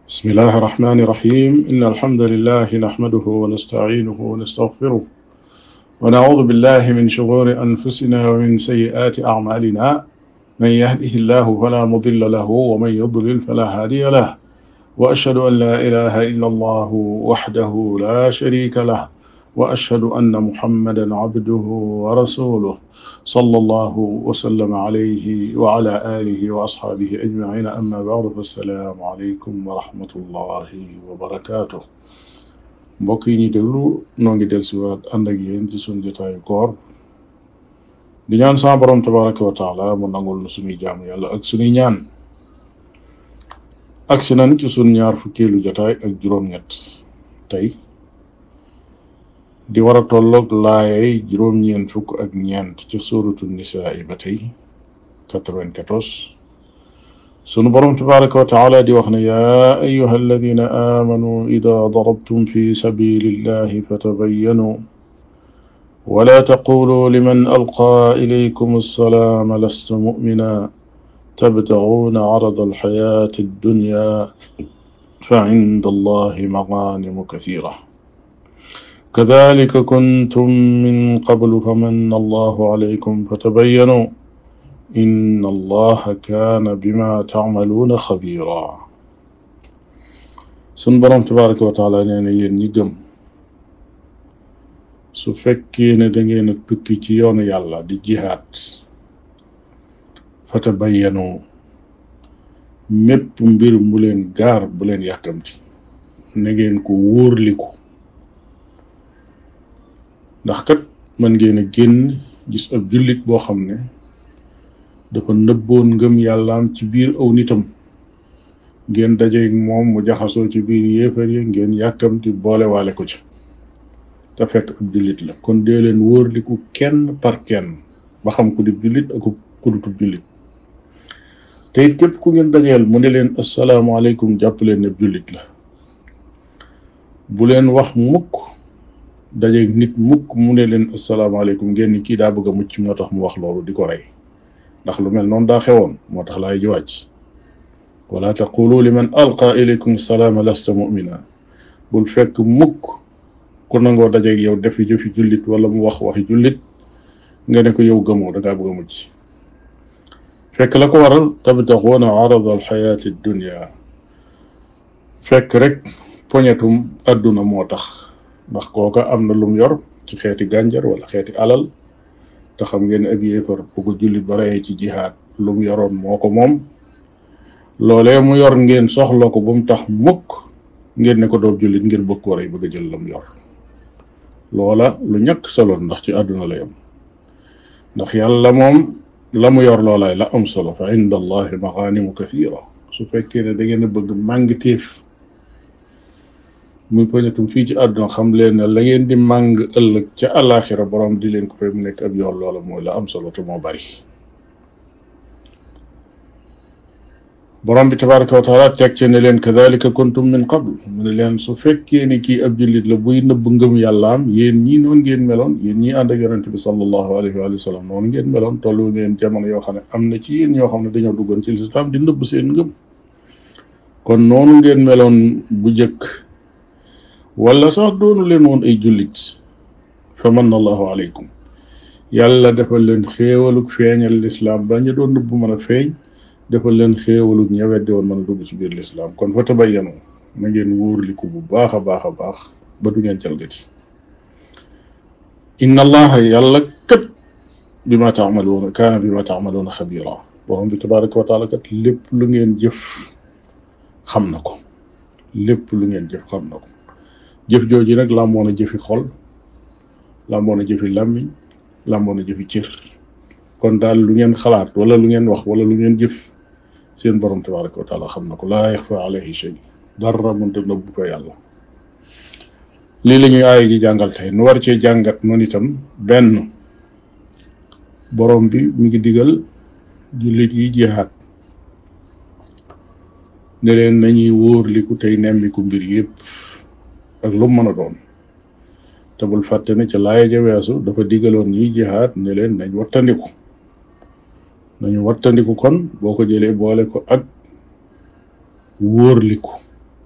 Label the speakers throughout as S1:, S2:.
S1: بسم الله الرحمن الرحيم إن الحمد لله نحمده ونستعينه ونستغفره ونعوذ بالله من شرور أنفسنا ومن سيئات أعمالنا من يهده الله فلا مضل له ومن يضلل فلا هادي له وأشهد أن لا إله إلا الله وحده لا شريك له وأشهد أن محمدا عبده ورسوله صلى الله وسلم عليه وعلى آله وأصحابه أجمعين أما بعد فالسلام عليكم ورحمة الله وبركاته mbokk yi ñuy déglu noo ngi dellusiwaat ànd ak yéen ci sunu jotaayu koor di ñaan sama borom tabaraka wa taala mu nangul na suñuy jaamu yàlla ak suñuy ñaan ak si nan ci sunu ñaar fukkeelu jotaay ak juróom-ñett tey di war a tolloog laayay juróom-ñeent fukk ak ñeent ca suuratu nisaa yi ba tey 94 sunu borom tabaraka wa taala di wax ne yaa ayuha alladina aamanu ida darabtum fi sabilillahi fatabayyanu wala taqulu liman alqaa ilaykum assalaama lasta mu'mina tabtaguuna carada alxayaati addunya fa cinda allahi magaanimu kasiira kadalika kuntum min qablu famanna allahu alaykum fatabayyanu inna allaha kaana bima taamaluuna xabiira sun borom tabaraka wa taala nee na yéen ñi gëm su fekkee ne da ngeen a tukki ci yoonu yàlla di jihaad fatabayyanu mépp mbir mu leen gaar bu leen yàkkamti na ngeen ko wóorliku ndax kat mën ngeen a génn gis ab jullit boo xam ne dafa nëbboon ngëm yàllaam ci biir aw nitam ngeen dajeeg moom mu jaxasoo ci biir yéefar yi ngeen yàkkamti boole waale ko ci te fekk ab jullit la kon dee leen wóorliku kenn par kenn ba xam ku di jullit ak ku dutub jullit te it képp ku ngeen dajeel mu ne leen asalaamaaleykum jàpp leen ne jullit la bu leen wax mukk dajeeg nit mukk mu ne leen asalaamaaleykum ngeen ni kii daa bëgg a mucc moo tax mu wax loolu di ko rey ndax lu mel noonu daa xewoon moo tax laay ji wàcc wala taqulu liman alqa ilaykum salaama lasta mu'mina bul fekk mukk ku nangoo dajeeg yow defi jëfi jullit wala mu wax waxi jullit nga ne ko yow gëmoo dangaa bëgg a mucc fekk la ko waral tabtaxuuna arada alxayaati dunya fekk rek poñetum adduna moo tax ndax kooka am na lum yor ci xeeti gànjar wala xeeti alal te xam ngeen ab yéefar bu ko jullit ba reyee ci jihaad lu mu yoroon moo ko moom loolee mu yor ngeen soxla ko ba mu tax mukk ngeen ne ko doob jullit ngir bëgg ko rey bëgg a jël la mu yor loola lu ñàkk solo ndax ci àdduna la yam ndax yàlla moom la mu yor loolaay la am solo fa inda allahi magaanimu kathira su fekkee ne da ngeen a bëgg màng téef muy poñetum fii ci àdduna xam leen ne la ngeen di màng ëllëg ca àllaaxira borom di leen ko fay mu nekk ab yoon loola mooy la am solo te moo bari borom bi tabaraka wa taala teg ci ne leen kadalika kuntum min qabl mu ne leen su fekkee ni kii ab jullit la buy nëbb ngëm yàllaam yéen ñii noonu ngeen meloon yéen ñii ànd ak yonente bi sallallahu alayhi wa sallam noonu ngeen meloon tollu ngeen jamono yoo xam ne am na ci yéen ñoo xam ne dañoo duggoon ci lislaam di nëbb seen ngëm kon noonu ngeen meloon bu jëkk wala sax doonu leen woon ay jullit fa manna allahu alaykum yàlla defal leen xéewalug feeñal lislaam ba ñu doon nëbb mën a feeñ defal leen xéewalug ña weddi woon mën a dugg ci biir lislaam kon fa tabayyanu na ngeen wóorliku bu baax a baax a baax ba du ngeen jalgati inna allaha yàlla kat bima taamaluuna kaana bima taamaluuna xabira borom bi tabaraka wa taala kat lépp lu ngeen jëf xam na ko lépp lu ngeen jëf xam na ko jëf jooju nag làmboon a jëfi xol làmboon a jëfi làmmiñ làmboon a jëfi cër kon daal lu ngeen xalaat wala lu ngeen wax wala lu ngeen jëf seen borom tabaraka wa taala xam na ko laa yaxfa alayhi shay dara mënta nëbbu ko yàlla lii la ñuy aaya ji jàngal tey nu war cee jàngat noonu itam benn borom bi mi ngi digal jullit yi jihaad ne leen nañuy wóorliku tey nemmiku mbir yépp ak lu mën a doon te bul fàtte ne ca laaya ja weesu dafa digaloon ñiy jihaad ne leen nañ wattandiku kon boo ko jëlee boole ko ak wóorliku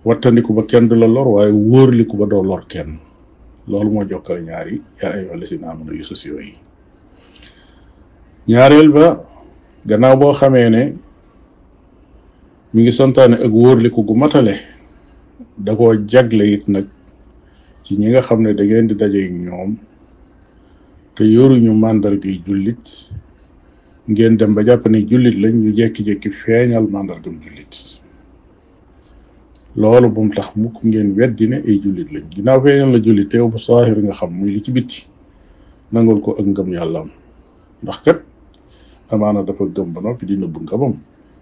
S1: wattandiku ba kenn du la lor waaye wóorliku ba doo lor kenn. loolu moo jokkale ñaari yaa ayyuhal lazina aamanu yu sociaux yi. ñaareel ba gannaaw boo xamee ne mi ngi santaane ak wóorliku gu matale da koo jagle it nag ci ñi nga xam ne da ngeen di daje ñoom te yoruñu màndargay jullit ngeen dem ba jàpp ne jullit lañ ñu jekki-jekki feeñal màndargam jullit. loolu bu mu tax mukk ngeen weddi ne ay jullit lañ ginnaaw feeñal la jullit teew bu saahir nga xam muy li ci bitti nangul ko ak ngëm yàllaam ndax kat amaana dafa gëm ba noppi di nëbb ngëmam.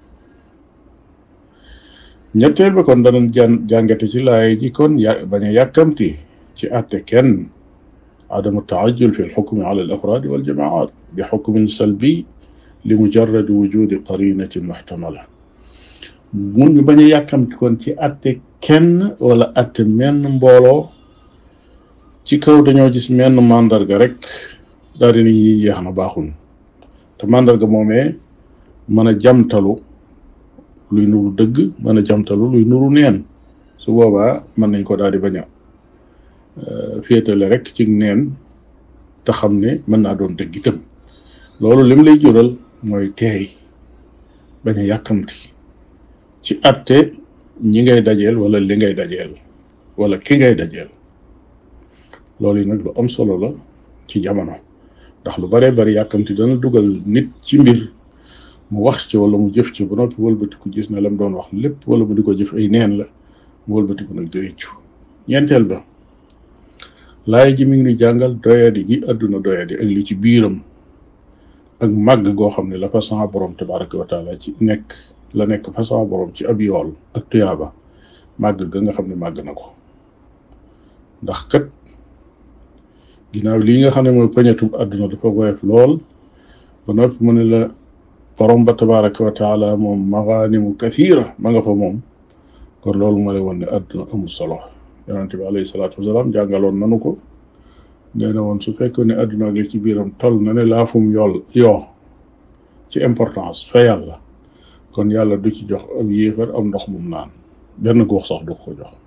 S1: ñetteel ba kon danañ jàngate ci laay ji kon bañ a yàkkamti ci àtte kenn adamu taajul fi lxukmi ala al afraadi wal jamaat bi xukmin salbi li mujarradi wujudi qarinatin muxtamala. mun ñu bañ a yàkkamti kon ci àtte kenn wala àtte menn mbooloo ci kaw dañoo gis menn màndarga rek daal di ni yi yeex na baaxuñ te màndarga moomee mën a jamtalu luy nuru dëgg mën a jamtalu luy nuru neen su boobaa mën nañ ko daal di bañ a féetale rek ci neen te xam ne mën naa doon dëgg itam. loolu lim lay jural mooy teey bañ a yàkkamti ci àtte ñi ngay dajeel wala li ngay dajeel wala ki ngay dajeel. loolu yi nag lu am solo la ci jamono ndax lu baree bari yàkkamti dana dugal nit ci mbir mu wax ci wala mu jëf ci ba noppi wëlbatiku gis na lam doon wax lépp wala mu di ko jëf ay neen la mu wëlbatiku nag di réccu. ñeenteel ba laay ji mi ngi ni jàngal doyadi gi àdduna doyadi ak li ci biiram ak màgg goo xam ne la fa sama borom tabaraka wa taala ci nekk la nekk fa sama borom ci ab yool ak tuyaaba màgg ga nga xam ne màgg na ko. ndax kat ginnaaw lii nga xam ne mooy pañatub àdduna dafa woyof lool ba noppi mu ne la borom ba tabaraka wa taala moom maganimu kathira ma nga fa moom kon loolu ma lay won ne àdduna amul solo. yonente bi alayhi salaatu wasalaam jàngaloon nanu ko nee na woon su fekkoon ne àdduna ak li ci biiram toll na ne laafum yoo ci importance fa yàlla kon yàlla du ci jox ab yéefar am ndox mum naan benn góox sax du ko jox.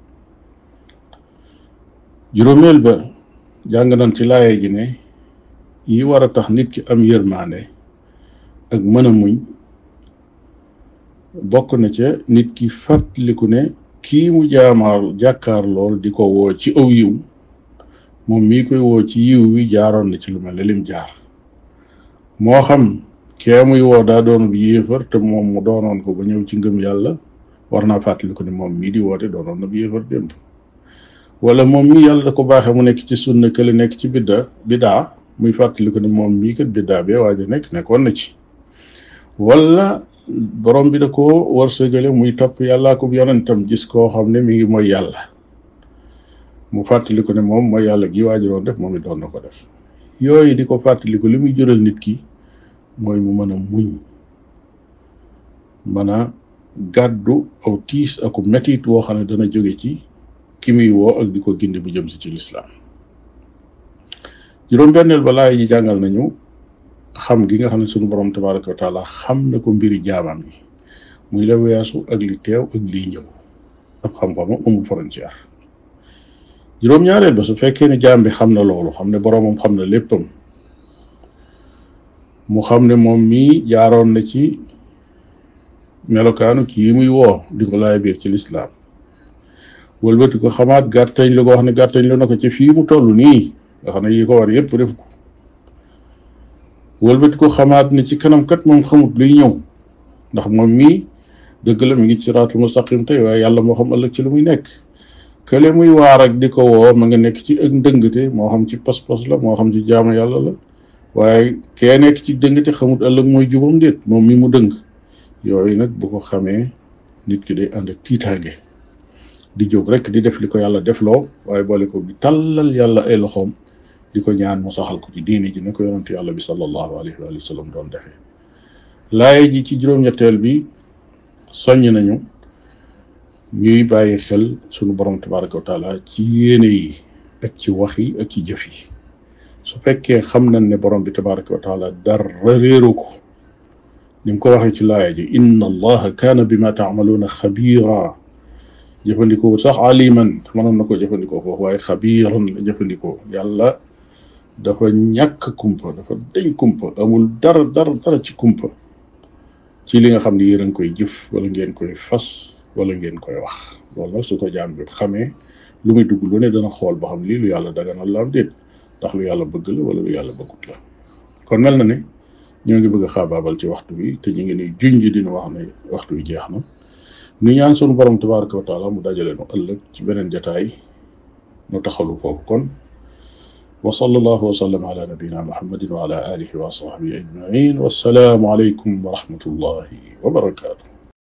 S1: juróomeel ba jàng nañ ci laaye ji ne yi war a tax nit ki am yërmaande ak mën a muñ bokk na ca nit ki fàttaliku ne kii mu jàkkaar lool di ko woo ci aw yiw moom mii koy woo ci yiw wi jaaroon na ci lu mel ne lim jaar. moo xam kee muy woo daa doon bu yéefar te moom mu doonoon ko ba ñëw ci ngëm yàlla war naa fàttaliku ne moom mii di woote doonoon na bu yéefar démb wala moom mii yàlla da ko baaxee mu nekk ci sunna kële nekk ci bidaa muy fàttaliku ne moom mii kat bidaa bee waaja nekkoon na ci wala borom bi da ko wërsëgale muy topp yàllaa ko yonentam gis koo xam ne mi ngi mooy yàlla mu fàttaliku ne moom mooy yàlla gi waaji doon def moom it doon na ko def. yooyu di ko fàttaliku li muy jural nit ki mooy mu mën a muñ mën a gàddu aw tiis aku metit woo xam ne dana jóge ci ki muy woo ak di ko gindi bu jëm si ci lislaam. juróom-benneel ba laay ji jàngal nañu xam gi nga xam ne sunu borom tabaraka wa taala xam na ko mbiri jaamam yi muy la weesu ak li teew ak liy ñëw ab xam-xamam amul frontière. juróom-ñaareel ba su fekkee ne jaam bi xam na loolu xam ne boromam xam na léppam mu xam ne moom mii jaaroon na ci melokaanu kii muy woo di ko laay biir ci lislaam wëlbati ko xamaat gàttañ lu ko wax ne gàttañ lu na ko ci fii mu toll nii nga xam ne yi ko war yépp def ko wëlbati ko xamaat ne ci kanam kat moom xamut luy ñëw ndax moom mii dëgg la mi ngi ci siraatul mustaqim tey waaye yàlla moo xam ëllëg ci lu muy nekk. kële muy waar ak di ko woo ma nga nekk ci ak ndëngte moo xam ci pas-pas la moo xam ci jaamu yàlla la waaye kee nekk ci dëngte xamut ëllëg mooy jubam déet moom mi mu dëng. yooyu nag bu ko xamee nit ki day ànd ak tiitaange di jóg rek di def li ko yàlla defloo waaye boole ko di tàllal yàlla ay loxoom di ko ñaan mu saxal ko ci diini ji ne ko yonent yàlla bi sallallahu alayhi wa sallam doon defee. laaye ji ci juróom-ñetteel bi soññ nañu ñuy bàyyi xel sunu borom tabaraka wa taala ci yéene yi ak ci wax yi ak ci jëf yi su fekkee xam nañ ne borom bi tabaraka wa taala dara réeru ko ni mu ko waxee ci laaya ji inna allaha kaana bima taamaluuna xabiira jëfandikoo sax aliman mënoon na ko jëfandikoo foofu waaye xabiiran la jëfandikoo. yàlla dafa ñàkk kumpa, dafa deñ kumpa, amul dara ci kumpa ci li nga xam ne yéen a ngi koy jëf wala ngeen koy fas wala ngeen koy wax. loolu nag su ko jaam bi xamee lu muy dugg lu ne dana xool ba xam lii lu yàlla daganal la am déet, ndax lu yàlla bëgg la wala lu yàlla bëggut la. kon mel na ne ñoo ngi bëgg a xaabaabal ci waxtu bi te ñu ngi ni junj dina wax ne waxtu bi jeex na. nu ñaan sunu borom tabaraka wa taala mu dajale nu ëllëg ci beneen jataay nu taxalu foofu kon. wa sallallahu wa sallam ala nabina muhammadin wa ala alihi wa sahbihi ajmain. wassalaamu alaykum wa rahmatullahi wa barakatuh.